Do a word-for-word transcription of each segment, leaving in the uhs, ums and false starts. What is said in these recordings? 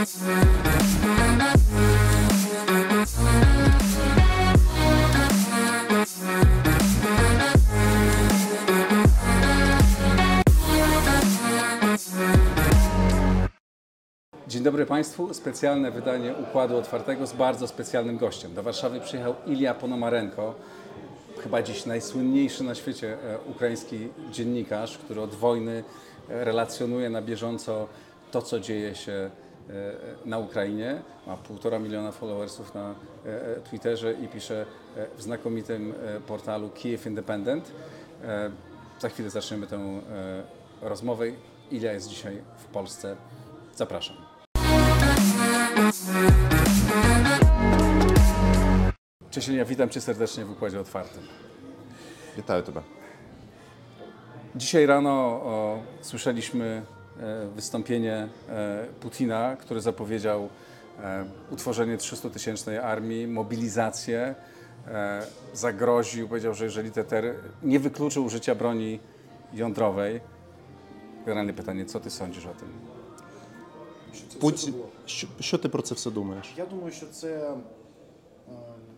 Dzień dobry Państwu. Specjalne wydanie Układu Otwartego z bardzo specjalnym gościem. Do Warszawy przyjechał Ilja Ponomarenko, chyba dziś najsłynniejszy na świecie ukraiński dziennikarz, który od wojny relacjonuje na bieżąco to, co dzieje się na Ukrainie. Ma półtora miliona followersów na Twitterze i pisze w znakomitym portalu Kyiv Independent. Za chwilę zaczniemy tę rozmowę. Ilja jest dzisiaj w Polsce. Zapraszam. Cześć Ilja, witam Cię serdecznie w Układzie Otwartym. Witaję Ciebie. Dzisiaj rano o, słyszeliśmy e, wystąpienie e, Putina, który zapowiedział e, utworzenie trzystutysięcznej armii, mobilizację, e, zagroził, powiedział, że jeżeli T T R nie wykluczył użycia broni jądrowej. Generalne pytanie, co Ty sądzisz o tym? Путін, що, що ти про це все думаєш? Я думаю, що це е,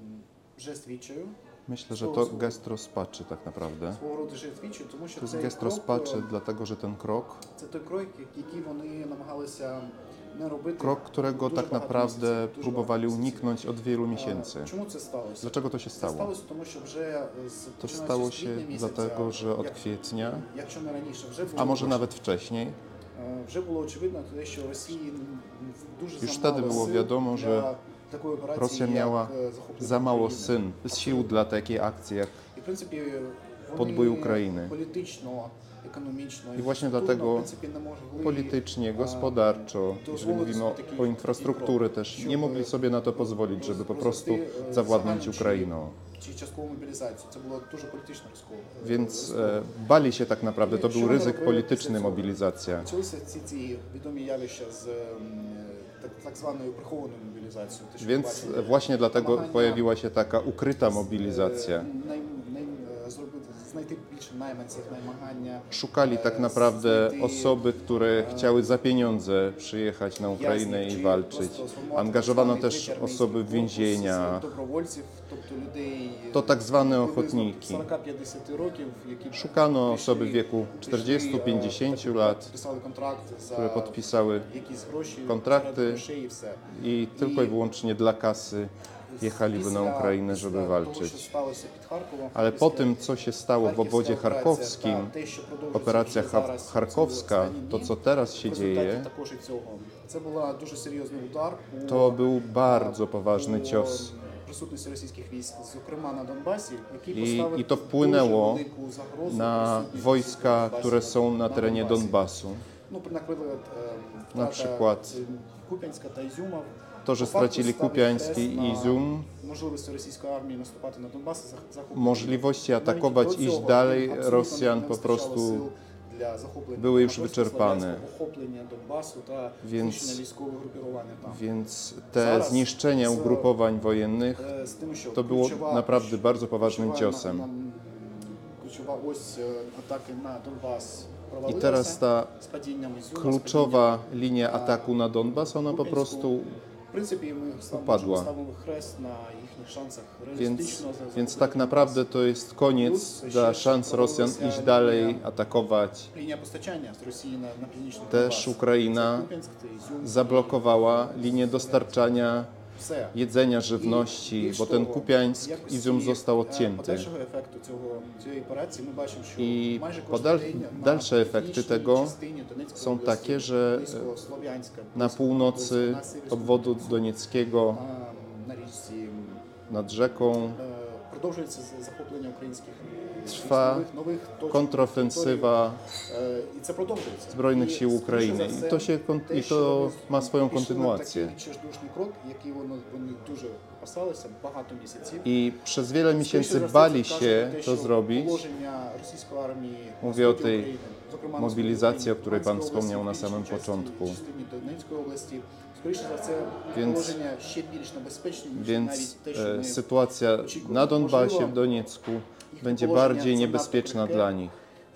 жест відчаю. Myślę, że to gest rozpaczy tak naprawdę. Свого роду жест відчаю, тому що To jest цей gest крок, rozpaczy, е, dlatego że ten krok, це той крок, який вони намагалися не робити. krok, którego дуже tak багато naprawdę місяців, дуже próbowali багато місяців. uniknąć od wielu Е, miesięcy. Чому це сталося? Dlaczego to się Це stało? сталося, тому що вже з To починаючи stało з się квітня місяця, dlatego, że od як- kwietnia, якщо не раніше, вже a було może nawet wcześniej, е, вже було очевидно, те, що Росії дуже Już замало wtedy było сил wiadomo, для że такої операції, Rosja як, miała е, захоплення za mało України. syn, sił dla takiej akcji jak І, в принципі, вони Podbój України. політично, економічно, I właśnie інфраструктурно, dlatego в принципі, не mogli politycznie, gospodarczo, jeżeli mówimy o, o infrastrukturze też, nie mogli sobie na to pozwolić, żeby po prostu zawładnąć Ukrainą. чи часткову мобілізацію. Це було дуже політично ризиково. Więc e, bali się tak naprawdę, to był ryzyk polityczny mobilizacja. Почалися ці ці відомі явища з ем, так, так званою прихованою мобілізацією. Те, що ми Więc бачили. właśnie dlatego Намагання, pojawiła się taka ukryta е, mobilizacja. най- най- е, зробити, знайти більше найманців, намагання Szukali tak е, naprawdę знайти, osoby, które chciały za pieniądze przyjechać na Ukrainę i walczyć. Angażowano też osoby w więzienia. добровольців, тобто людей To tak zwane приблизно ochotniki. сорок-п'ятдесят років, які Szukano osoby w прийшли- wieku прийшли, czterdziestu е, pięćdziesięciu так, lat, підписали контракт за które podpisały якісь гроші, kontrakty заради грошей і все. i tylko i wyłącznie dla kasy jechaliby na Ukrainę, żeby Після того, що walczyć. сталося під Харковом, Ale po після tym, co się stało w Харківська obwodzie операція charkowskim, та те, що продовжується operacja вже Cha- зараз, ці charkowska, останні to дні, co teraz się в результаті dzieje, також і цього. Це була дуже серйозний удар по, to był bardzo poważny по cios. присутності російських військ, зокрема на Донбасі, який I, поставив i to wpłynęło дуже велику загрозу na присутності wojska, Донбасі, które są na terenie Донбасі. Donbasu. Ну, наприклад, е, Na втрата, przykład е, Куп'янська та Ізюма. To, że По факту stracili ставить Kupiański хрест i на Izum, можливості російської армії наступати на Донбас і зах- захоплювати. możliwości Навіть atakować, до iść цього dalej абсолютно Rosjan не po вистачало prostu сил для захоплення były już Краматорська-Слов'янська, wyczerpane. охоплення Донбасу та Więc- знищення військових групірувань там. Więc te zniszczenia ugrupowań wojennych Е, з тим, що to było ключова- naprawdę bardzo poważnym ключова ciosem. на- на- Ключова ось е, атаки на Донбас I провалилася teraz ta з падінням Ізюма, з kluczowa падінням, linia ataku na Donbas, ona po prostu, В принципі, ми upadła. ставимо хрест на їхніх шансах więc, реалістично. за- więc за- tak naprawdę to jest koniec dla szans Rosjan iść dalej, atakować. Лінія постачання з Росії на, на північний Też Донбас. Ukraina Це Куп'янськ, це Ізюм. zablokowała linię dostarczania Все. jedzenia, żywności, Більш bo ten того, Kupiańsk, якості, Izum został е, odcięty. Подальшого ефекту цього, цієї операції ми бачимо, що I майже podal- кожен день на dalsze efekty північній tego частині Донецької są області, takie, że близько Слов'янська, na близько północy на севері obwodu Слов'янська, donieckiego, а, на річці nad rzeką, е, продовжується з- захоплення українських Trwa нових, нових точок, kontrofensywa територій. Е, і це продовжується. Zbrojnych І, sił скоріше Ukrainy. за I все, to, się, kon- те, i що to вони ma swoją пішли на kontynuację. Такий відчайдушний крок, який вони, вони дуже опасалися багато місяців. I przez wiele Скоріше miesięcy за все, bali це się каже про те, to що zrobić. положення російської армії на Mówię o сході tej України, зокрема, на mobilizacji, сході o której Pan Луганської wspomniał na області, samym північній początku. частині Донецької області. Скоріше за все, Więc- положення ще більш небезпечні, ніж Więc навіть те, що e, ми sytuacja na Donbasie, w Doniecku będzie bardziej niebezpieczna dla nich.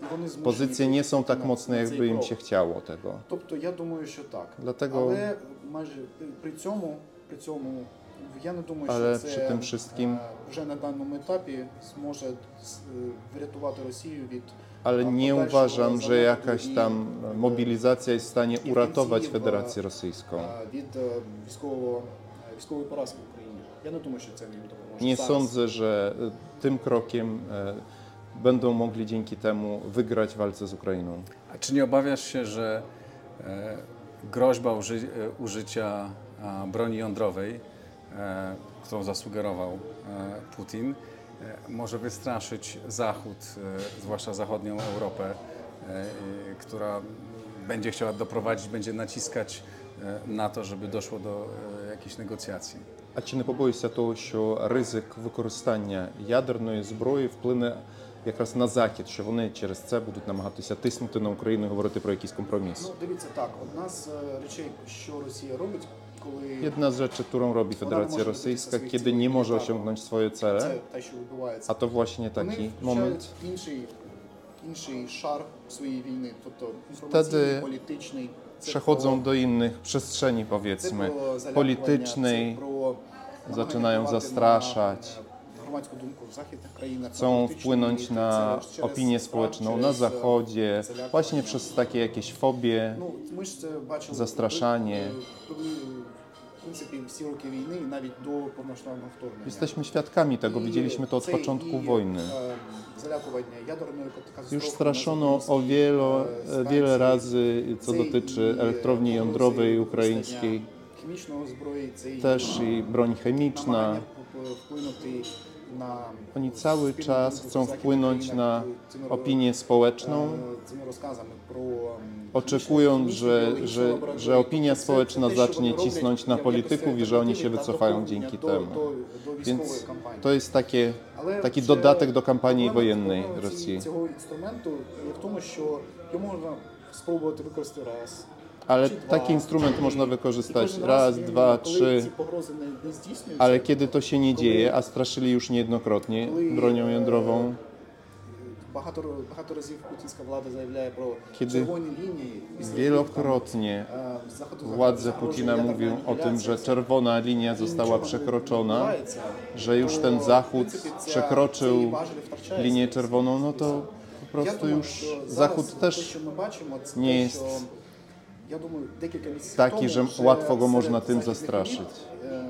і вони змушені pozycje nie są піти tak на- mocne, на jakby цей im крок. się chciało tego. Тобто я думаю, що так. Dlatego, Але майже при- при цьому, при цьому я не думаю, ale що przy це tym wszystkim, е, вже на даному етапі зможе с- е, врятувати Росію від ale е, nie подальшого uważam, że занепаду jakaś і, tam е, mobilizacja jest w stanie i uratować ofensywa, Federację Rosyjską. е, від е, військового е, військової поразки в Україні. Я не думаю, що це їм допоможе. Nie зараз. sądzę, że y, tym krokiem y, będą mogli dzięki temu wygrać w walce z Ukrainą. A czy nie obawiasz się, że e, groźba uży, e, użycia a, broni jądrowej, e, którą zasugerował e, Putin, e, może wystraszyć Zachód, e, zwłaszcza zachodnią Europę, e, e, która będzie chciała doprowadzić, będzie naciskać e, na to, żeby doszło do e, jakichś negocjacji? А чи не побоюся того, що ризик використання ядерної зброї вплине якраз на Захід, що вони через це будуть намагатися тиснути на Україну і говорити про якийсь компроміс? Ну, дивіться так, одна з е, речей, що Росія робить, коли Jedna z rzeczy, którą robi Federacja Rosyjska, kiedy nie może osiągnąć swoje це cele, те, що відбувається, a to właśnie вони taki включають moment, інший, інший шар своєї війни, тобто інформаційний, Wtedy політичний. Це przechodzą про- do innych przestrzeni, це powiedzmy, про залякування, politycznej, це про zaczynają намагання zastraszać, впливати на громадську думку в західних країнах, на chcą політичну wpłynąć еліту, na це через opinię страх, społeczną na через, е, Zachodzie, залякування. właśnie przez takie jakieś fobie. Ну, ми ж це бачили Застрашання. коли, в принципі, всі роки війни, і навіть до повномасштабного вторгнення. Jesteśmy świadkami tego, І widzieliśmy to od це początku і, wojny. е, залякування ядерною катастрофою Już на straszono o Запорізькій, wielo, е, wiele станції. razy, co Це dotyczy і elektrowni погрози jądrowej використання ukraińskiej, хімічного зброї, це і też i broń chemiczna. намагання п- вплинути на Oni cały спільну czas думку в chcą західних wpłynąć країнах na цими, opinię е, społeczną, цими розказами про м, oczekując, хімічні, że, біологічні że, лабораторії. że opinia Тобто це- społeczna це те, що zacznie вони роблять cisnąć na як polityków i że oni się альтернативі та wycofają доповнення dzięki до- temu. до- до Więc військової кампанії. to jest takie, Але taki вже dodatek do kampanii проблема- wojennej проблема ці- Rosji. Цього інструменту є в тому, що його можна спробувати використати раз. Ale чи два, taki instrument чи można три. wykorzystać І кожен raz, він, dwa, коли trzy, ці погрози не, не здійснюються, ale kiedy to się nie dzieje, a straszyli już niejednokrotnie bronią jądrową, багато, багато разів путінська влада заявляє про Kiedy червоні лінії. після wielokrotnie яких там, е, заходу- władze загрожує Putina ядерна mówią o tym, анігіляція. że czerwona linia І została нічого не przekroczona, відбувається, że już то, ten в Zachód принципі, ця- przekroczył цей важель втрачається. linię czerwoną, no to po Я prostu думаю, już що зараз Zachód те, też що ми бачимо, це nie те, jest що, я думаю, декілька місяців taki, тому że вже łatwo go серед można tym західних zastraszyć. еліт, ем,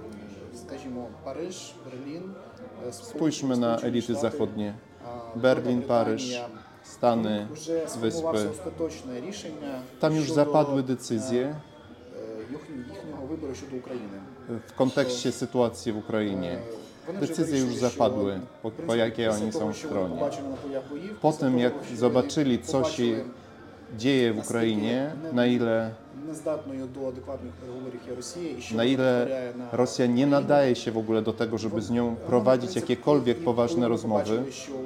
скажімо, Париж, Берлін, е, Spójrzmy na Сполучені elity Штати, zachodnie. а, Berlin, Велика Paryż, Британія. Stany, Вже сформувався Wyspy. остаточне рішення Tam już щодо, zapadły е, decyzje е, їхнього їхнього вибору щодо України. w kontekście sytuacji w Ukrainie. Е, вони вже Decyzje już вирішили, що, zapadły, po, в po принципі, jakiej після oni того, są w що вони stronie. побачили на полях боїв, Po після tym, того, jak що zobaczyli, вони co się побачили, dzieje w Ukrainie, na ile, нездатною до адекватних переговорів є Росія, і що na вона ile витворяє на Rosja nie nadaje się w ogóle do tego, żeby z nią prowadzić jakiekolwiek poważne rozmowy.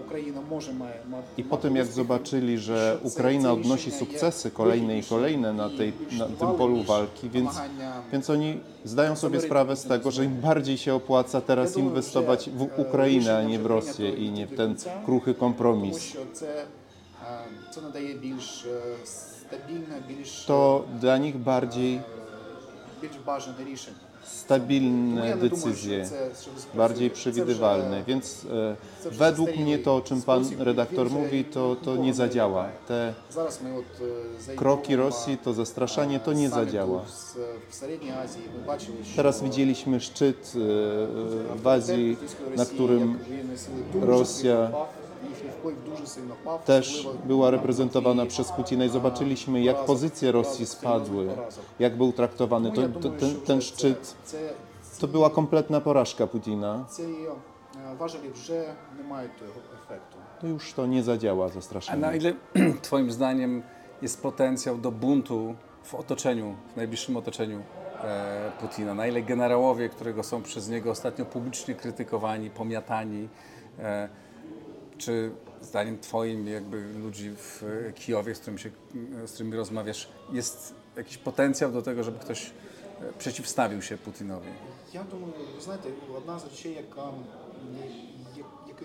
I po tym, jak zobaczyli, że Ukraina odnosi sukcesy kolejne i kolejne na, tej, na tym polu walki, więc, więc oni zdają sobie sprawę z tego, że im bardziej się opłaca teraz inwestować w Ukrainę, a nie w Rosję i nie w ten kruchy kompromis. Тому що це, е, це надає більш е, стабільне, більш, To dla nich bardziej е, більш бажане рішення. Тому stabilne я не думаю, decyzje, що це, що спрацює. bardziej Це przewidywalne. вже- Więc e, це вже według zastарілий mnie to, o czym pan sposób, redaktor він вже mówi, to, to нікого nie не zadziała. лякає. Te Зараз ми от е, за kroki ітогом, Rosji, to zastraszanie, е, to nie саміту zadziała. з- В Середній Азії ми бачили, що Teraz widzieliśmy szczyt e, w Azji, Російської na Росії, którym як воєнної сили, дуже Rosja сильно впав, їхній вплив дуже сильно впав, też особливо była на reprezentowana тлі, przez Putina i а, zobaczyliśmy, jak поразок, pozycje Rosji поразок, spadły, серйозних поразок. jak był traktowany. Тому To, я to, думаю, ten, що ten вже szczyt це, це, to była kompletna porażka Putina. ці е, важелі вже не мають того ефекту. To już to nie zadziała A zastraszanie. na ile Twoim zdaniem jest potencjał do buntu w otoczeniu, w najbliższym otoczeniu e, Putina? Na ile generałowie, którego są przez niego ostatnio publicznie krytykowani, pomiatani, e, czy zdaniem Twoim, jakby ludzi w Kijowie, z, którym się, z którymi rozmawiasz, jest jakiś potencjał do tego, żeby ktoś e, przeciwstawił się Putinowi? Я думаю, ви знаєте, одна з речей, яка, я- яких мені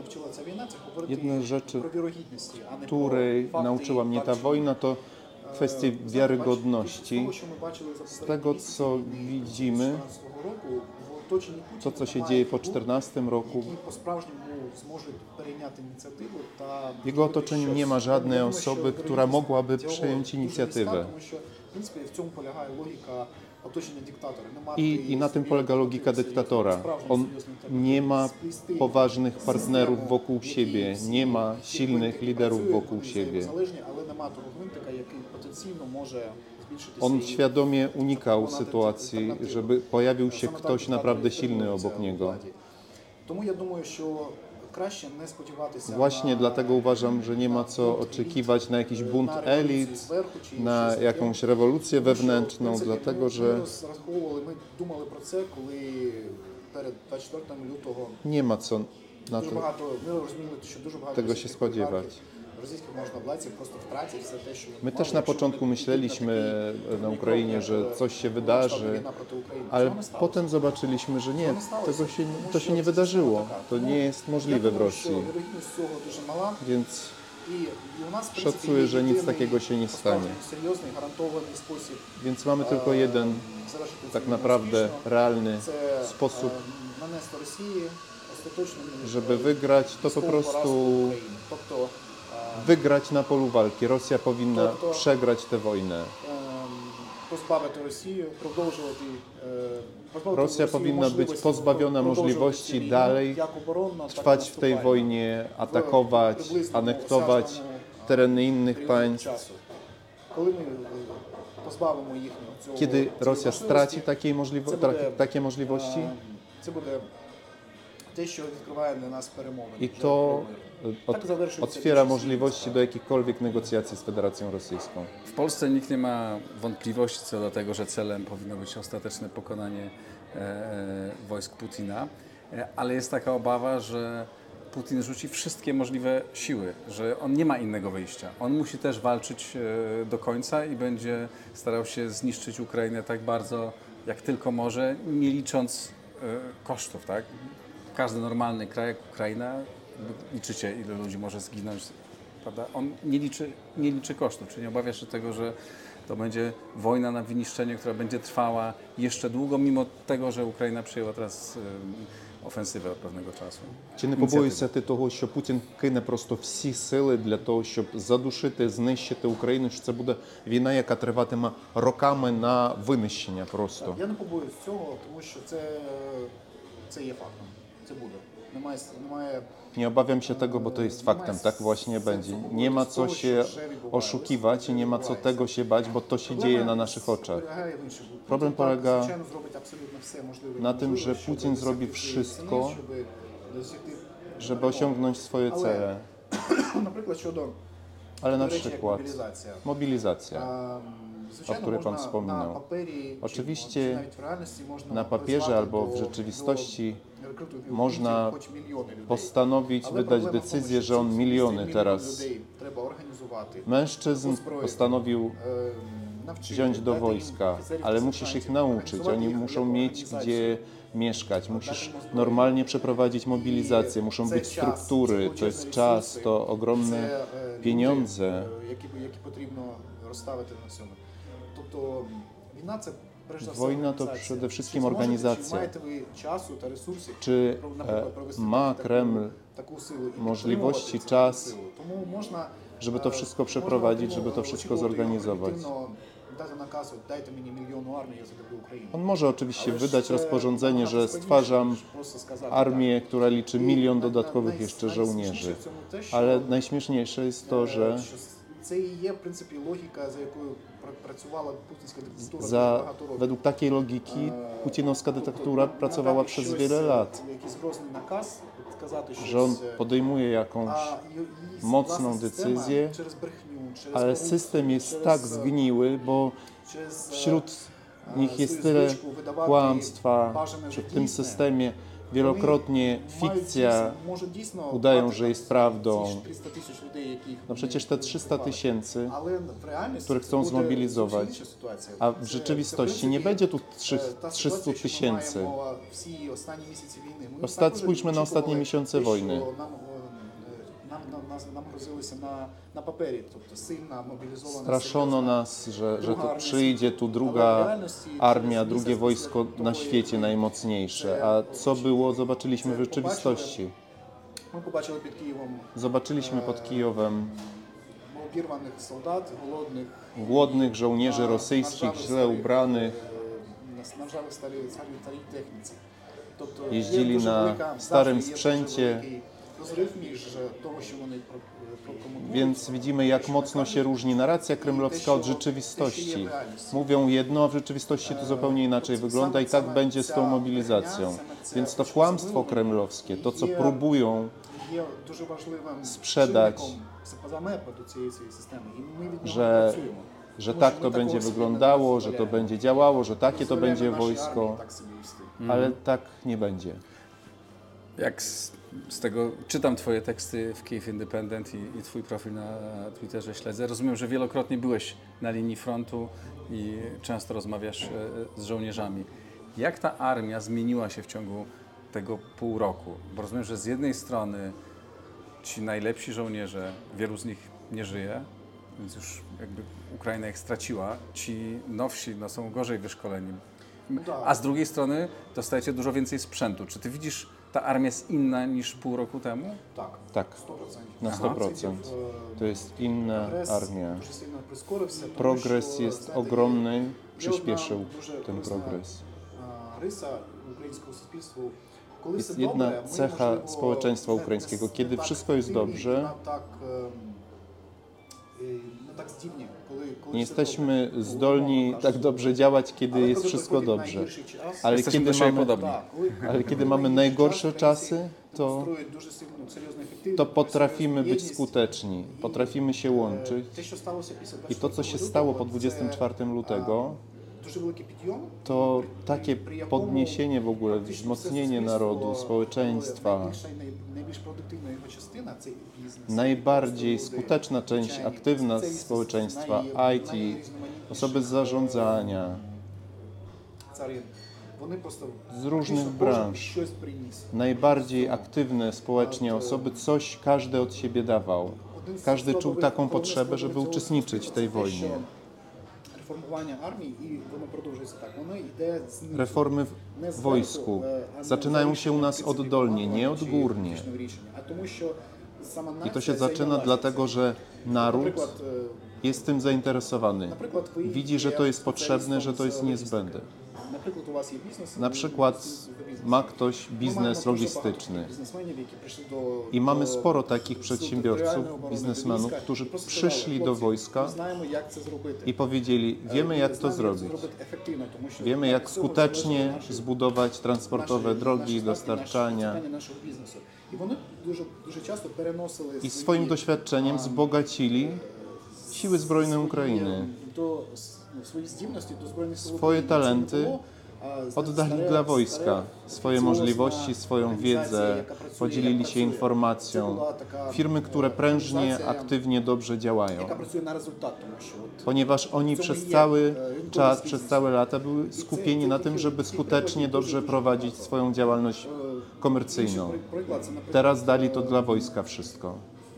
навчила ця війна, це говорити Jedna z rzeczy, про вірогідності, а не której про факти nauczyła і mnie ta факти. wojna, to kwestie Знаєте, wiarygodności. з того, що ми bачили за Z tego, co widzimy, чотирнадцятого року, в оточенні to, Путіна co się немає dzieje po фігур, czternastym roku, які по-справжньому зможуть перейняти ініціативу та w jego otoczeniu nie ma żadnej osoby, która mogłaby przejąć inicjatywę. Тому що, w принципі, в цьому полягає логіка оточення диктатора. Не мати I, I na tym polega logika серйозних, dyktatora. справжніх On серйозних треба nie ma сплести poważnych систему, partnerów wokół в якій siebie, всі- nie ma всі silnych гвинтики liderów працюють, wokół вони siebie. взаємозалежні, але нема того гвинтика, який потенційно може збільшитися. On і świadomie unikał запропонувати sytuacji, альтернативу. żeby pojawił się Саме так ktoś диктатори naprawdę silny тримуються obok у niego. владі. Тому я думаю, що краще не сподіватися Właśnie на, dlatego uważam, że nie ma co oczekiwać na jakiś bunt на революцію elit, зверху чи na щось таке. jakąś rewolucję Тому що, в wewnętrzną, принципі, dlatego ми, że ми розраховували, ми думали про це, коли перед двадцять четвертого лютого nie ma co na дуже to, багато, ми розуміли, що дуже багато tego się російських spodziewać. олігархів, російських можновладців просто втратять все те, що вони My мали, też na якщо początku вони myśleliśmy підуть na такий Ukrainie, крок, że як, coś się е, wydarzy, масштабна війна проти України. ale Цього не сталося. potem zobaczyliśmy, że nie, Цього не сталося, tego się, тому to що się nie це wydarzyło. система така. To Тому nie jest я możliwe w думаю, що Rosji, вірогідність цього дуже мала. więc І, і у нас, в принципі, szacuję, є że nic єдиний, takiego się nie stanie. по-справжньому серйозний, гарантований спосіб Więc mamy tylko е, jeden завершити цю tak війну naprawdę успішно. realny Це sposób, е, нанести Росії остаточну żeby wygrać, to po військову поразку prostu України. Тобто е, wygrać na polu walki. Rosja powinna To- to- przegrać tę wojnę. ем, позбавити Росію, продовжувати е, позбавити Rosja Росію powinna być можливості pozbawiona продовжувати możliwości цю війну, dalej як оборонно, так і trwać w tej наступальну. wojnie, atakować, приблизно anektować осяжному, е, tereny innych періоді państw. часу. Коли ми е, позбавимо їхнього цього Kiedy цієї Rosja можливості, straci takiej możliwo- це буде, tra- takie możliwości е, це буде те, що відкриває для нас перемовини. i вже to про мир. od, Tak zaвершується otwiera більшість możliwości spraw. do jakichkolwiek negocjacji z Federacją Rosyjską. W Polsce nikt nie ma wątpliwości co do tego, że celem powinno być ostateczne pokonanie e, wojsk Putina, e, ale jest taka obawa, że Putin rzuci wszystkie możliwe siły, że on nie ma innego wyjścia. On musi też walczyć e, do końca i będzie starał się zniszczyć Ukrainę tak bardzo, jak tylko może, nie licząc e, kosztów, tak? Każdy normalny kraj jak Ukraina, liczycie ile ludzi może zginąć, prawda? On nie liczy, nie liczy kosztów, czyli nie obawia się tego, że to będzie wojna na wyniszczenie, która będzie trwała jeszcze długo, mimo tego, że Ukraina przyjęła teraz e, ofensywę od pewnego czasu. Чи не побоюєшся ти того, що Путін кине просто всі сили для того, щоб задушити, знищити Україну, що це буде війна, яка триватиме роками на винищення просто? Я не побоюсь цього, тому що це, це є фактом. Це буде. Немає, немає Nie obawiam się tego, bo to jest faktem, tak właśnie będzie. Nie ma co się oszukiwać i nie ma co tego się bać, bo to się dzieje na naszych oczach. полягає в іншому. Problem Путін, polega звичайно, зробить абсолютно все можливе і na tym, неможливе, że щоб Putin zrobi досягти wszystko, ціни, щоб досягти żeby перемоги. osiągnąć swoje Ale- cele. Наприклад, щодо Ale na до речі, як przykład мобілізація. mobilizacja. А, Звичайно, o której pan можна wspominał. на папері, Oczywiście чи навіть в реальності можна Na papierze призвати albo до- w rzeczywistości до рекрутингів można хоч мільйони людей. postanowić Але wydać проблема в тому, decyzję, що że on ці miliony мільйони teraz людей треба організувати, mężczyzn uzbroić, postanowił е, навчити, wziąć do дати їм wojska, офіцерів, ale musisz ich сержантів, nauczyć. організувати Oni їх muszą як mieć організацію. gdzie mieszkać, musisz Dać im uzbrojenie. normalnie przeprowadzić mobilizację, I muszą це być час, struktury, це to jest величезні czas, ресурси, to ogromne це, е, люди, pieniądze. е, які, які потрібно розставити на цьому. Тобто війна це перш за все Wojna to організація. przede wszystkim Чи зможете, organizacja. Чи маєте ви часу та ресурсів, Czy про- e, наприклад, провести ma таку- Kreml таку силу і możliwości, підтримувати czas, цю силу? Тому можна, żeby to е, wszystko можна przeprowadzić, отримувати- żeby to wszystko очікувати zorganizować? оперативно Дати наказ, от, дайте мені мільйонну армію, я затоплю Україну. On może oczywiście Ale wydać jeszcze rozporządzenie, nabagато że складніше, stwarzam ніж просто сказати, armię, która liczy tak. milion I na- dodatkowych na- jeszcze naj- żołnierzy. najsmішніше в цьому те, що, Ale najśmieszniejsze jest to, е, że що це і є, в принципі, логіка, за якою пр- працювала путінська диктатура дуже za, багато років. według takiej logiki Е, putinowska тобто, dyktatura на- pracowała надати przez щось, wiele е, lat, Якийсь грозний наказ, от сказати щось, że on е, podejmuje jakąś, а ї- її mocną власна система decyzję, через брехню, через ale корупцію, system jest через, tak е, zgniły, bo через, е, wśród е, nich jest свою tyle звичку видавати kłamstwa, бажане że за w tym дійсне. systemie Вони wielokrotnie мають fikcja, дійсно- можуть дійсно udają, мати że там jest ці prawdą. трzysta тисяч людей, яких no вони przecież te trzysta вбивали. tysięcy, Але в реальності których chcą це буде zmobilizować, зовсім інша ситуація. a Це- w це, rzeczywistości в nie принципі, będzie tu е, та trzysta ситуація, що ми tysięcy. маємо всі останні місяці війни. Ми Osta- також spójrzmy na ostatnie очікували miesiące те, що wojny. нам, е, на- нас- нам грозилися на, на папері, тобто сильна мобілізована. Straszono серйозна nas, że, że druga to armia przyjdzie tu świata. druga Ale w realności armia, przez drugie miesiąc wojsko после na того, świecie jak najmocniejsze. A co było, zobaczyliśmy w rzeczywistości. Ми побачили під Києвом Zobaczyliśmy pod Kijowem обірваних солдат, голодних, głodnych żołnierzy rosyjskich, źle ubranych, е, на ржавих старій, старій, старій техніці. Тобто Jeździli є дуже na велика- starym завжди є дуже sprzęcie. великий розрив між того, що вони про- прокомунікують. Więc widzimy, jak mocno się różni narracja kremlowska od rzeczywistości. Mówią jedno, a w rzeczywistości to zupełnie inaczej wygląda i tak będzie z tą mobilizacją. Więc to kłamstwo kremlowskie, to co próbują Є дуже важливим sprzedać, чинником замепу до цієї цієї системи. І ми від нього że, працюємо. że Тому tak що to ми такого będzie собі не wyglądało, że to дозволяємо. będzie działało, że takie to Дозволяємо będzie нашій армії wojsko, так собі вести. ale tak nie będzie. Jak z, z tego czytam Twoje teksty w Kyiv Independent i, i Twój profil na Twitterze śledzę, rozumiem, że wielokrotnie byłeś na linii frontu i często rozmawiasz e, z żołnierzami. Jak ta armia zmieniła się w ciągu tego pół roku? Bo rozumiem, że z jednej strony ci najlepsi żołnierze, wielu z nich nie żyje, więc już jakby Ukraina ich straciła. Ci nowsi no, są gorzej wyszkoleni. A z drugiej strony dostajecie dużo więcej sprzętu. Czy ty widzisz, ta armia jest inna niż pół roku temu? Так, Tak, сто процентів. na sto procent. To jest inna Прогрес armia. дуже сильно прискорився, тому Progres що, jest знаєте, ogromny, є одна przyspieszył дуже ten корисна, progres. а, риса українського суспільства. Коли Jest все jedna добре, ми, cecha можливо, społeczeństwa не- ukraińskiego. не Kiedy так wszystko jest активні, dobrze, не так, ем, і не так здібні, коли, коли nie все jesteśmy добре. zdolni Умовно tak кажучи. dobrze działać, kiedy Але jest коли wszystko приходить dobrze. найгірший час, Ale Jesteśmy kiedy do siebie mamy, podobni. так, коли- ale kiedy коли mamy найгірший najgorsze час, czasy, українці to, демонструють дуже сильну, серйозну ефективність, to potrafimy być єдність. skuteczni, potrafimy się łączyć. Те, що сталося після I to, co się stało po dwudziestego czwartego lutego, дуже великий підйом, to при- takie при якому podniesienie w ogóle, фактично wzmocnienie все народу, суспільство, społeczeństwa. найбільша і най- найбільш продуктивна його частина це бізнес. Najbardziej Просто skuteczna люди, część звичайні aktywna спеціалісти, społeczeństwa, най- I T, найрізноманітніших, osoby z zarządzania, царин. Вони просто z różnych фактично кожен branż. щось приніс. Najbardziej aktywne społecznie osoby, coś każdy od siebie dawał. Один з Każdy czuł складових- taką головних potrzebę, żeby складових цього uczestniczyć w tej суспільства це те, wojnie. що Реформування армії, і воно продовжується так. Воно йде знизу. Reformy Не w зверху, wojsku е, а не zaczynają за się u nas рішенням принципів oddolnie, nie команди чи odgórnie. політичного рішення, а тому, що сама I to нація się zaczyna зайнялася dlatego, цим. że naród Наприклад, е, jest tym zainteresowany. наприклад, ви Widzi, że є to jest potrzebne, że to спеціалістом jest з niezbędne. логістики. Наприклад, у вас є бізнес. Na ви- przykład ви бізнес. ma ktoś Ми маємо biznes дуже logistyczny. багато бізнесменів, які прийшли до- I mamy до sporo takich Сил przedsiębiorców, територіальної оборони, до biznesmenów, війська, którzy і просто przyszli сказали, do «Хлопці, wojska ми знаємо, як це зробити. i powiedzieli, wiemy jak to Знаємо, zrobić. зробити ефективно, тому що Wiemy від jak цього skutecznie залежить наше- zbudować transportowe наші- drogi, наші статки, dostarczania. наші- нашого бізнесу. І вони дуже, дуже часто переносили I свої, swoim doświadczeniem wzbogacili siły zbrojne Ukrainy. до, с- ну, свої здібності до Збройних Сил Swoje України. Це не talenty було, а, зна- Oddali старе- dla старе wojska swoje офіціозна możliwości, swoją організація, wiedzę, яка pracuje, podzielili яка się pracuje. Це informacją. була така, Firmy, które е, prężnie, організація, aktywnie, dobrze działają. яка працює на результат, тому що от Ponieważ oni Co przez my je- cały e, czas, rynkowy przez biznes. całe lata były skupieni na tym, żeby skutecznie, dobrze prowadzić swoją działalność komercyjną. інший приклад, це, наприклад, Teraz dali to dla wojska wszystko.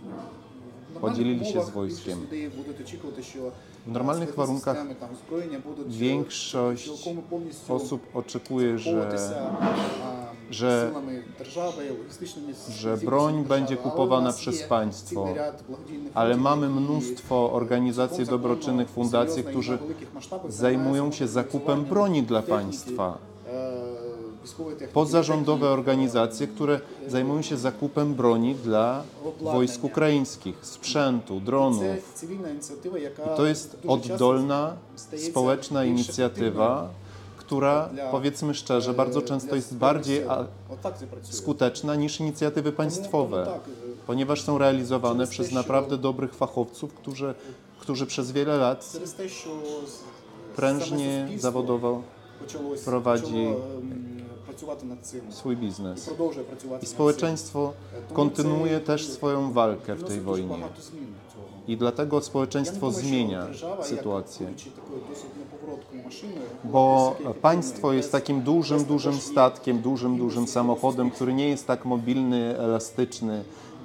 в podzielili нормальних się z умовах wojskiem. більшість людей будуть очікувати, що W normalnych складні warunkach системи, там, озброєння будуть większość цілком повністю osób oczekuje, że, куповуватися, а, że- силами держави, логістичними że здібностями broń держави. będzie Але у kupowana нас przez є państwo. цілий ряд благодійних Ale фондів, mamy які mnóstwo organizacji цілком dobroczynnych, законно, fundacji, серйозно і którzy на великих масштабах zajmują займаються się zakupem мобілізуванням broni dla техніки, państwa. е, військової техніки, Pozarządowe техніки, organizacje, które zajmują się zakupem broni dla wojsk ukraińskich, sprzętu, Це dronów. цивільна ініціатива, яка I to jest дуже часто oddolna, стається społeczna більш inicjatywa, która, dla- powiedzmy szczerze, bardzo е, często для jest Збройних bardziej Сил. a, Отак це працює. skuteczna niż inicjatywy Тому- państwowe, тому так, е, ponieważ są realizowane Через przez те, naprawdę що- dobrych fachowców, którzy, którzy przez wiele lat через те, що з- prężnie, саме суспільство zawodowo почалось, prowadzi почало, ем, працювати над цим swój і biznes. продовжує працювати I над społeczeństwo цим. Тому kontynuuje це też swoją walkę w tej приносить дуже wojnie. багато змін цього. I dlatego Я не społeczeństwo думаю, що zmienia держава, sytuację. як будучи такою досить неповороткою машиною, Bo досить państwo jest ефективною, takim без- dużym, без dużym також є statkiem, dużym, мінуси dużym цього samochodem, суспільства. który nie jest tak mobilny, elastyczny.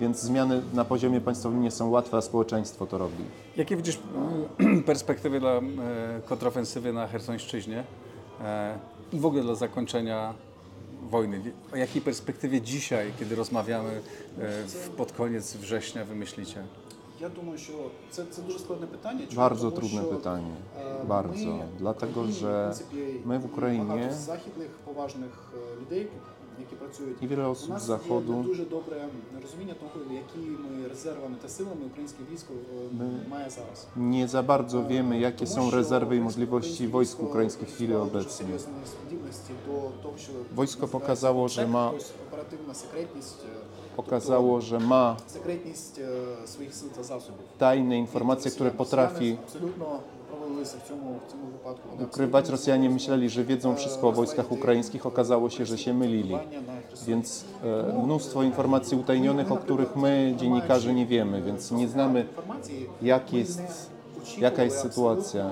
Więc zmiany na poziomie państwowym nie są łatwe, a społeczeństwo to robi. Jakie widzisz mm, perspektywy dla e, kontrofensywy na Chersońszczyźnie e, i w ogóle dla zakończenia wojny? O jakiej perspektywie dzisiaj, kiedy rozmawiamy e, w, pod koniec września, wy myślicie? Я думаю, що це, це дуже складне питання. Чому? Bardzo Тому trudne що, pytanie. е, Bardzo. ми в Dlatego, Україні, в że принципі, my w Ukrainie багато західних поважних е, людей, які працюють, i wiele у osób z нас є Zachodu дуже добре розуміння того, якими резервами та силами українське військо е, має зараз. nie za bardzo wiemy, jakie Тому są що rezerwy i українське możliwości wojsk військо ukraińskich w chwili демонструвало дуже obecnej. серйозні здібності до того, що Wojsko називається pokazało, że ma- ОПСЕК, оперативна секретність, е, Pokazało, że ma секретність е, своїх сил та засобів. tajne informacje, które potrafi Абсолютно провалилися в цьому, в цьому випадку. Вони ukrywać. Rosjanie myśleli, że wiedzą wszystko o wojskach ukraińskich. Okazało się, że się mylili. Więc e, mnóstwo informacji utajnionych, o których my, dziennikarze, nie wiemy, więc nie znamy, jak jest, jaka jest sytuacja.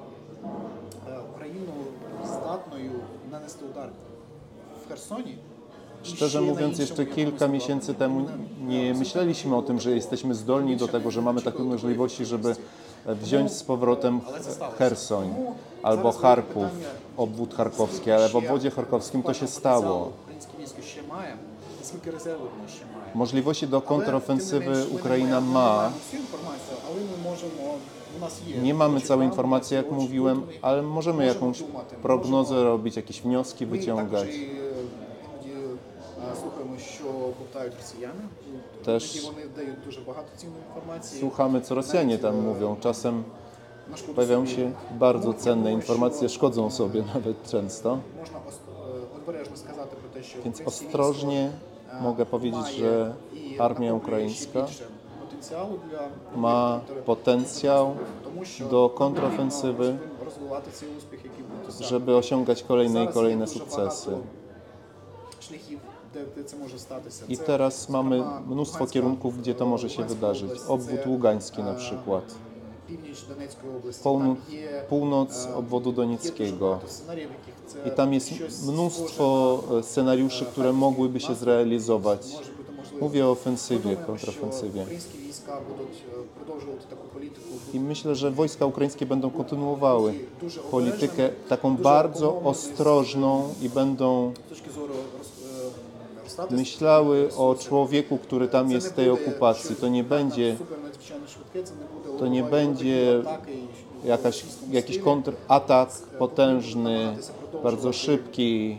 Україну здатною нанести удар в Херсоні. Szczerze mówiąc, jeszcze kilka miesięcy temu nie myśleliśmy o tym, że jesteśmy zdolni do tego, że mamy takie możliwości, żeby wziąć z powrotem Chersoń albo Charków, obwód charkowski, ale w obwodzie charkowskim to się stało. Українське військо ще має, скільки резервів воно ще має. Możliwości do Але, kontrofensywy тим не менш, ми Ukraina не маємо- ma. Ми маємо всю інформацію, але ми можемо, у нас є. Nie mamy очі całej правди, informacji, jak очі mówiłem, думки. ale możemy Możemy jakąś думати, prognozę możemy- robić, jakieś wnioski Ми wyciągać. також і, е, іноді е, слухаємо, що бовтають росіяни. Теж Іноді вони дають дуже багато цінної інформації. Słuchamy, co Rosjanie tam mówią. Czasem На шкоду pojawiają собі. się bardzo Тому я cenne думаю, informacje, що szkodzą sobie nawet często. Можна ос- е, обережно сказати про те, що Więc українське ostrożnie військо, е, mogę powiedzieć, має że і armia накоплює ukraińska ще більше потенціалу для ma контр- potencjał тому що do нам kontrofensywy, потрібно розвивати цей успіх, який був досягнутий. żeby osiągać kolejne i Зараз kolejne є дуже sukcesy. багато шляхів, де, де це може статися. I Це, teraz mamy зокрема, mnóstwo Луганська- kierunków, gdzie to może się Луганська wydarzyć. область, Obwód це, Ługański na е, przykład, Північ Донецької області. Północ, Там є, północ е, obwodu є дуже donieckiego. багато сценаріїв, в яких це I tam jest щось mnóstwo схоже e, scenariuszy, które mogłyby się zrealizować. на- може бути можливо. Mówię o Ми ofensywie, думаємо, що kontrofensywie. українські війська будуть е, продовжувати таку політику. I myślę, że wojska ukraińskie będą kontynuowały Дуже politykę обережними, taką дуже bardzo обумовленою з- ostrożną i będą з точки зору роз- е, розставити myślały o ресурси. człowieku, który tam Це jest не w tej буде okupacji. щось To nie będzie супер надзвичайно швидке, це не буде to nie лобової będzie атаки і jakaś, російському jakiś стилі. kontratak potężny, bardzo szybki,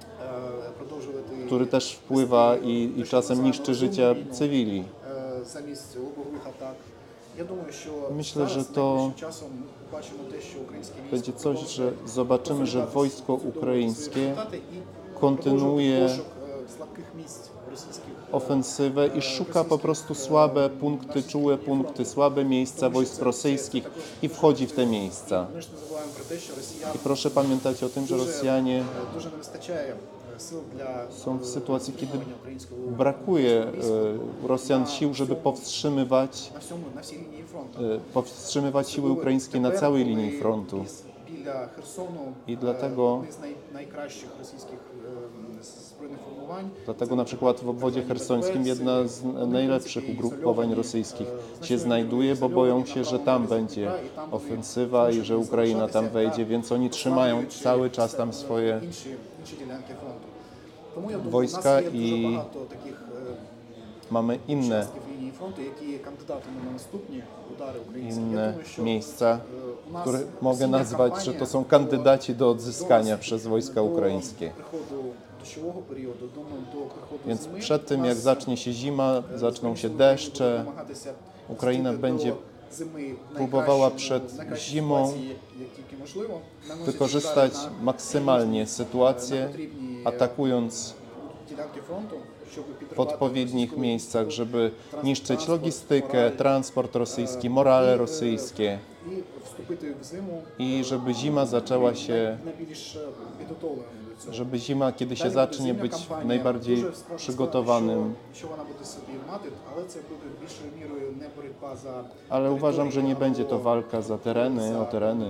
Е, продовжувати który też wpływa i, i czasem niszczy życia cywili. е, замість лобових атак. Я думаю, що Myślę, зараз że to найближчим часом бачимо те, що українське військо Będzie coś, że продовжує zobaczymy, że консолідувати wojsko свої ukraińskie результати і kontynuuje продовжує пошук е, слабких місць російських е, ofensywę i szuka po prostu słabe punkty, czułe punkty, słabe miejsca wojsk rosyjskich i wchodzi w te miejsca. Ми ж не забуваємо про те, що росіян I proszę pamiętać o tym, że Rosjanie е, дуже не вистачає е, сил для są w sytuacji, kiedy стримування українського brakuje e, Rosjan sił, żeby powstrzymywać, на всьому на всій лінії фронту. e, powstrzymywać siły ukraińskie na całej linii frontu. Біля Херсону I dlatego- одне з най, найкращих російських е, збройних формувань. Dlatego na przykład w obwodzie chersońskim jedna z najlepszych ugrupowań rosyjskich się znajduje, bo boją się, że tam będzie ofensywa i że Ukraina tam wejdzie, więc oni trzymają cały czas tam swoje інші, інші ділянки фронту. Тому я думаю, wojska у нас є і дуже багато таких е, mamy inne, участків лінії фронту, які є кандидатами на наступні удари українські. Я inne думаю, що miejsca, е, у нас które mogę осіння nazwać, że кампанія to są до- kandydaci do до odzyskania нас- przez wojska до ukraińskie. приходу дощового періоду, думаю, до приходу Więc зими, przed tym, у jak нас, zacznie się zima, е, zaczną się Збройні Сили України deszcze, будуть намагатися Україна зустріти będzie до зими в próbowała найкращому- przed найкращій zimą ситуації, як- як тільки можливо, наносячи wykorzystać удари на maksymalnie на sytuację, потрібні, е, atakując ділянки фронту, щоб w підривати odpowiednich російську miejscach, żeby niszczyć transport, logistykę, morale, transport rosyjski, е, morale і, е, rosyjskie і вступити в зиму i żeby zima zaczęła się, найбільш е, підготовленим до цього. żeby zima, kiedy się Далі zacznie, буде być зимня кампанія. najbardziej Дуже складно przygotowanym. сказати, Що, що вона буде собі мати, але це буде більшою мірою не боротьба за Ale uważam, że nie територію będzie to або walka za tereny, за o tereny. певні,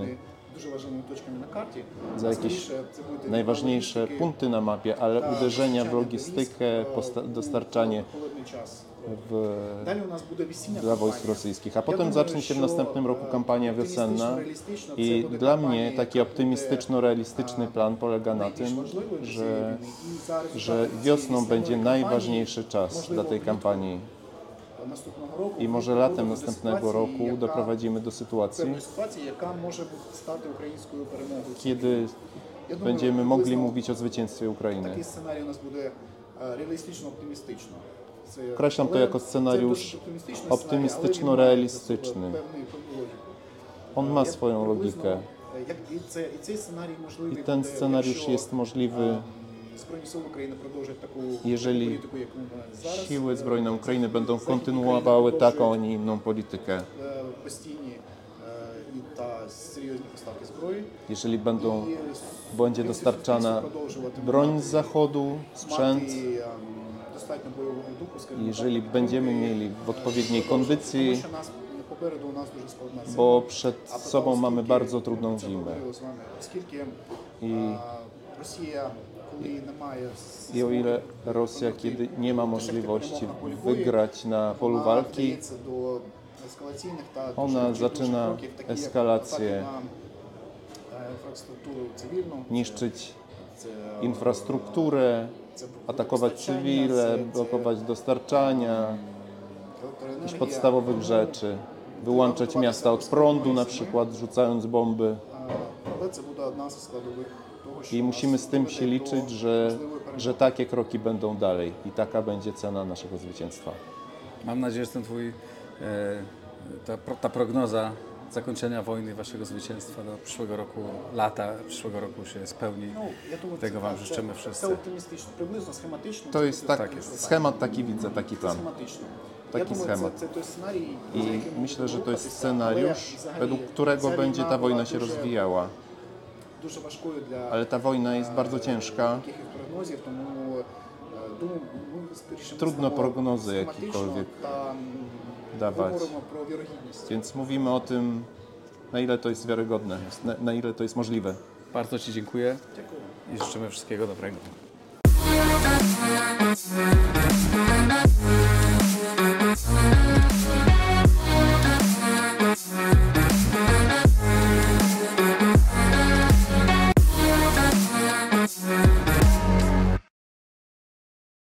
дуже важливими точками на карті. za jakieś najważniejsze punkty na mapie, ale uderzenia w logistykę, posta- dostarczanie Холодний час. w, Далі у нас буде весіння dla wojsk кампанія. rosyjskich. A potem zacznie się w następnym roku kampania wiosenna i dla mnie taki optymistyczno-realistyczny plan polega na tym, że, że wiosną będzie najważniejszy czas dla tej kampanii. наступного року I może latem następnego roku doprowadzimy do sytuacji, певної ситуації, яка може стати українською перемогою. kiedy Я думаю, będziemy mogli приблизно mówić o zwycięstwie Ukrainy. Такий сценарій у нас буде е, реалістично-оптимістично. Це- Określam to але jako це scenariusz досить оптимістичний сценарій, але optymistyczno-realistyczny. він має певний логіку. On ma swoją Приблизно, logikę. е, як і, це, і цей сценарій можливий I ten буде, scenariusz якщо, jest możliwy, е, Збройні сили України продовжать таку jeżeli політику, яку вони зараз. siły zbrojne Е, Ukrainy będą Захід kontynuowały України taką, a продовжує, nie inną politykę. е, постійні е, і та серйозні поставки зброї. Jeżeli będą, І, będzie в принципі, dostarczana продовжувати broń мати- z zachodu, sprzęt, мати, ем, достатньо бойового духу, скажімо jeżeli так, będziemy підтримки, mieli w е, odpowiedniej продовжувати. kondycji, Тому що нас попереду у нас дуже складна зима. bo przed А потім, sobą mamy оскільки, bardzo trudną ми це zimę. говорили з вами, Оскільки I, е, Росія, коли немає I o ile Rosja, kiedy nie ma możliwości wygrać na polu walki, ona zaczyna eskalację, niszczyć infrastrukturę, atakować cywile, blokować dostarczania jakichś podstawowych rzeczy, wyłączać miasta od prądu, na przykład rzucając bomby. I musimy z tym się liczyć, że, że takie kroki będą dalej i taka będzie cena naszego zwycięstwa. Mam nadzieję, że ten twój, e, ta, pro- ta prognoza zakończenia wojny, waszego zwycięstwa do przyszłego roku, lata przyszłego roku się spełni. Tego wam życzymy wszyscy. Це оптимістично, приблизно схематично. To jest tak, Tak jest. schemat taki widzę, taki plan. Схематично. Taki Я думаю, schemat. Це, це той сценарій, за I яким ми myślę, że будемо to jest рухатися, scenariusz, але взагалі według którego ця będzie ta війна wojna була się дуже- rozwijała. Дуже важкою для Ale ta wojna jest bardzo ciężka. таких прогнозів, тому е, думаю, ми скоріше Trudno мислимо prognozy схематично jakiekolwiek та м, dawać. говоримо про вірогідність. Więc mówimy o tym, na ile to jest wiarygodne, na, na ile to jest możliwe. Bardzo ci dziękuję Дякую. i życzymy wszystkiego dobrego. We'll be right back.